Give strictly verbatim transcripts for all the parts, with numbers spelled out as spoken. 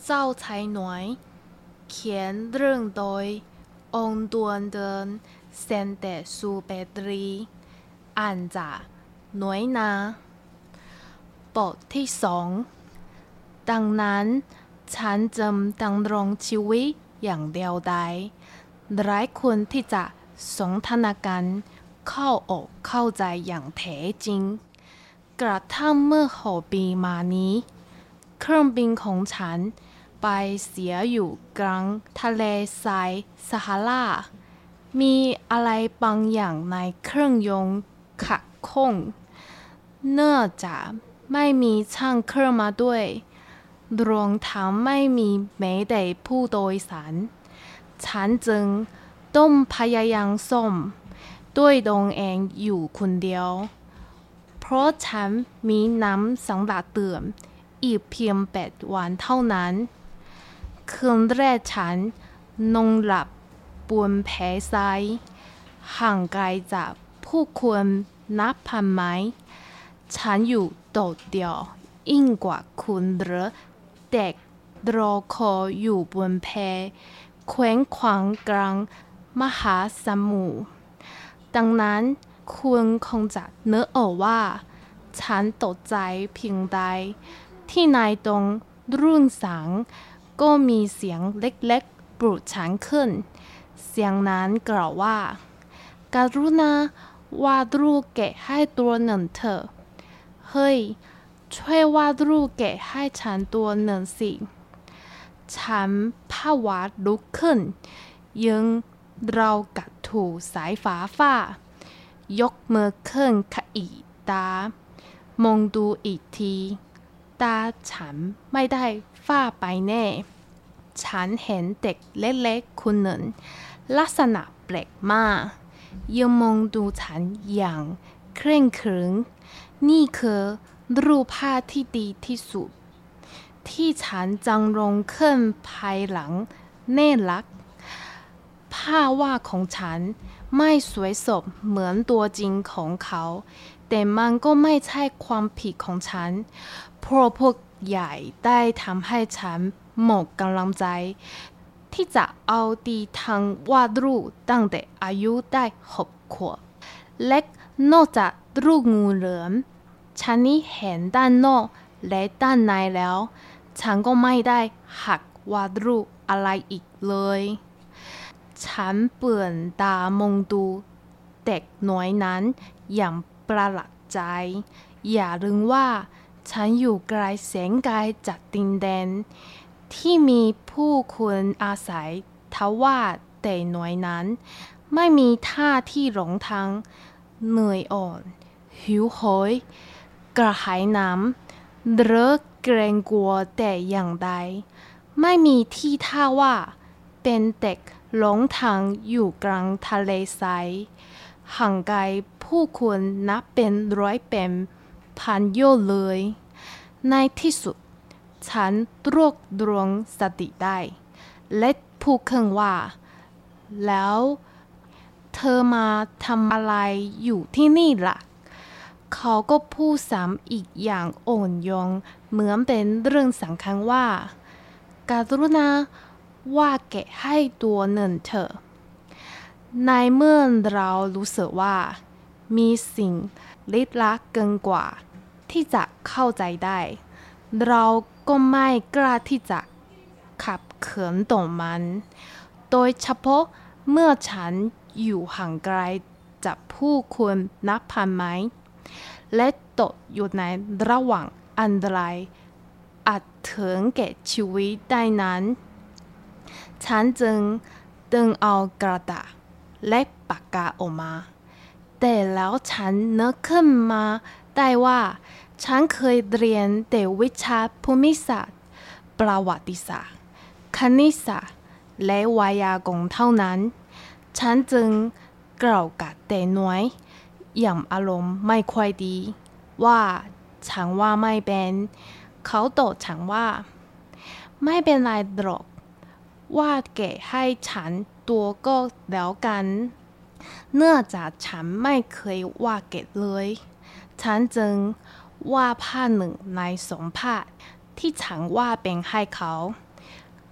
เจ้าชายน้อยเขียนเรื่องโดยองค์ดวนเดินเซนเตซูเปตรีอ่านจากน้อยนาบทที่สองดังนั้นฉันจำดำรงชีวิตอย่างเดียวดายไร้คนที่จะสนทนากันเข้าอกเข้าใจอย่างแท้จริงกระทั่งเมื่อหกปีมานี้เครื่องบินของฉันไปเสียอยู่กลางทะเลทรายซาฮารามีอะไรบางอย่างในเครื่องยนต์ขัดข้องเนื่องจากไม่มีช่างเครื่องมาด้วยรวมทั้งไม่มีแม้แต่ผู้โดยสารฉันจึงต้องพยายามซ่อมด้วยตนเองอยู่คนเดียวเพราะฉันมีน้ำสำหรับดื่มอีกเพียงแปดวันเท่านั้นคืนแรกฉันนอนหลับบนแพทรายห่างไกลจากผู้คนนับพันไมล์ฉันอยู่โดดเดี่ยวยิ่งกว่าคุณหรือเด็กรอคอยอยู่บนแพเคว้งคว้างกลางมหาสมุทรดังนั้นคุณคงจะนึกออกว่าฉันตกใจเพียงใดที่ในตรงรุ่งสางก็มีเสียงเล็กๆปลุกฉันขึ้นเสียงนั้นกล่าวว่าการุณาวาดรูปแกะให้ตัวหนึ่งเถอะเฮ้ยช่วยวาดรูปแกะให้ฉันตัวหนึ่งสิฉันผวาลุกขึ้นยังเรากัดถูสายฟ้าฟ้ายกมือขึ้นขยี้ตามองดูอีกทีตาฉันไม่ได้ฝ้าไปแน่ฉันเห็นเด็กเล็กๆคนหนึ่งลักษณะแปลกมากยังมองดูฉันอย่างเคร่งขรึมนี่คือรูปภาพที่ดีที่สุดที่ฉันจังลงขึ้นภายหลังแน่รักภาพวาดของฉันไม่สวยสดเหมือนตัวจริงของเขาแต่มันก็ไม่ใช่ความผิดของฉันเพราะพวกใหญ่ได้ทำให้ฉันหมดกำลังใจที่จะเอาดีทางวาดรูปตั้งแต่อายุได้หกขวบและนอกจากรูปงูเหลือมฉันนี่เห็นด้านนอกและด้านในแล้วฉันก็ไม่ได้หักวาดรูปอะไรอีกเลยฉันเปลี่ยนตามองดูเด็กน้อยนั้นอย่างประหลาดใจอย่าลืมว่าฉันอยู่ไกลแสนไกลจากดินแดนที่มีผู้คนอาศัยทว่าแต่น้อยนั้นไม่มีท่าที่หลงทางเหนื่อยอ่อนหิวโหยกระหายน้ำหรือเกรงกลัวแต่อย่างใดไม่มีที่ท่าว่าเป็นเด็กหลงทางอยู่กลางทะเลทรายห่างไกลผู้คนนับเป็นร้อยเป็นพันโยชน์เลยในที่สุดฉันรวบรวมสติได้และพูดขึ้นว่าแล้วเธอมาทำอะไรอยู่ที่นี่ล่ะเขาก็พูดซ้ำอีกอย่างอ่อนโยนเหมือนเป็นเรื่องสำคัญว่าการุณาวาดแกะให้ตัวหนึ่งเถอะในเมื่อเรารู้สึกว่ามีสิ่งลึกลับเกินกว่าที่จะเข้าใจได้เราก็ไม่กล้าที่จะขับเขินต่อมันโดยเฉพาะเมื่อฉันอยู่ห่างไกลจากผู้คนนับพันไมล์และตกอยู่ในระหว่างอันตรายอาจถึงแก่ชีวิตได้นั้นฉันจึงดึงเอากระดาษและปากกาออกมาแต่แล้วฉันนึกขึ้นมาได้ว่าฉันเคยเรียนแต่วิชาภูมิศาสตร์ประวัติศาสตร์คณิตศาสตร์และไวยากรณ์เท่านั้นฉันจึงกล่าวกับเด็กน้อยอย่างอารมณ์ไม่ค่อยดีว่าฉันว่าไม่เป็นเขาตอบฉันว่าไม่เป็นไรหรอกวาดแกะให้ฉันตัวก็แล้วกันเนื่องจากฉันไม่เคยวาดแกะเลยฉันจึงวาดภาพหนึ่งในสองภาพที่ฉันวาดเป็นให้เขา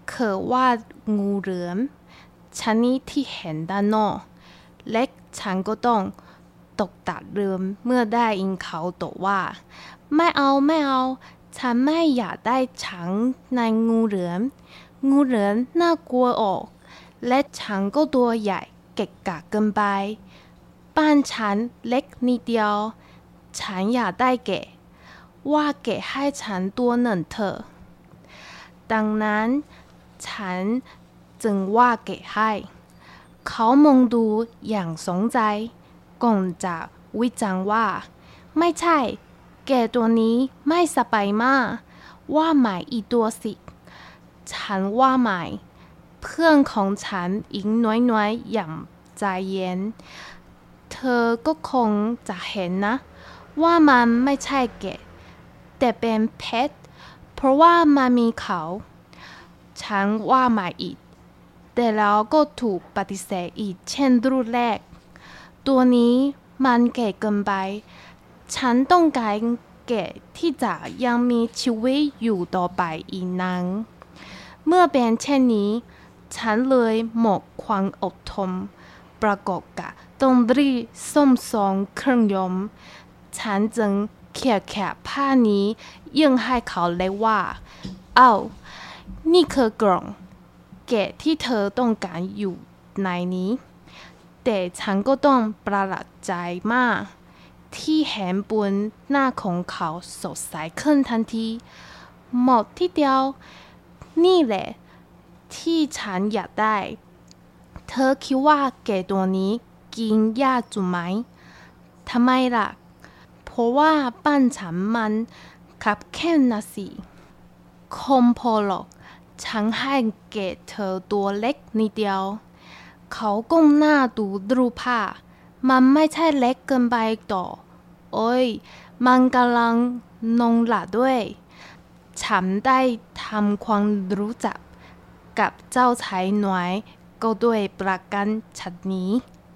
คือว่างูเหลือมชนิดที่เห็นด้านนอกและฉันก็ต้องตกตะลึงเมื่อได้ยินเขาตอบว่าไม่เอาไม่เอาฉันไม่อยากได้ฉันในงูเหลือมงูเหลือมน่ากลัวออกและฉันก็ตัวใหญ่เกะกะเกินไปบ้านฉันเล็กนิดเดียวฉันอยากได้แกะว่าแกะให้ฉันตัวหนึ่งเถอะดังนั้นฉันจึงว่าแกะให้เขามองดูอย่างสนใจก่อนจะวิจารณ์ว่าไม่ใช่แกะตัวนี้ไม่สบายมากว่าใหม่อีกตัวสิฉันว่าใหม่เพื่อนของฉันอีกน้อยๆอย่างใจเย็นเธอก็คงจะเห็นนะว่ามันไม่ใช่แกะแต่เป็นเพชรเพราะว่ามันมีเขาฉันว่าใหม่อีกแต่แล้วก็ถูกปฏิเสธอีกเช่นรุ่นแรกตัวนี้มันแก่เกินไปฉันต้องการแกะที่จะยังมีชีวิตอยู่ต่อไปอีกนานเมื่อเป็นเช่นนี้ฉันเลยหมดความอดทนประกอบกับต้องรีบซ่อมสองเครื่องยนต์ฉันจึงเขี่ยแขะผ้านี้ยื่นให้เขาเลยว่าเอ้านี่คือกล่องแกะที่เธอต้องการอยู่ในนี้แต่ฉันก็ต้องประหลาดใจมากที่เห็นบนหน้าของเขาสดใสขึ้นทันทีหมดที่เดียวนี่แหละที่ฉันอยากได้เธอคิดว่าแกะตัวนี้กินยากจุไหมทำไมล่ะเพราะว่าบ้านฉันมันคับแคบนะสิคงพอหรอกฉันให้แกะเธอตัวเล็กนิดเดียวเขาก้มหน้าดูรูปภาพมันไม่ใช่เล็กเกินไปต่อโอ้ยมันกำลังนงหละด้วยฉันได้ทำความรู้จักกับเจ้าชายน้อยก็ด้วยประการฉะนี้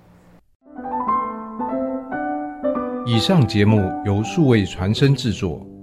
以上節目由數位傳聲製作